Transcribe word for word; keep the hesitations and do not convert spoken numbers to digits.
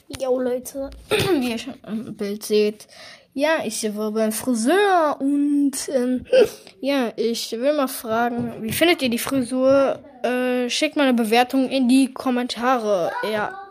Jo Leute, wie ihr schon im Bild seht, ja, ich war beim Friseur und ähm, ja, ich will mal fragen, wie findet ihr die Frisur? Äh, schickt mal eine Bewertung in die Kommentare. Ja.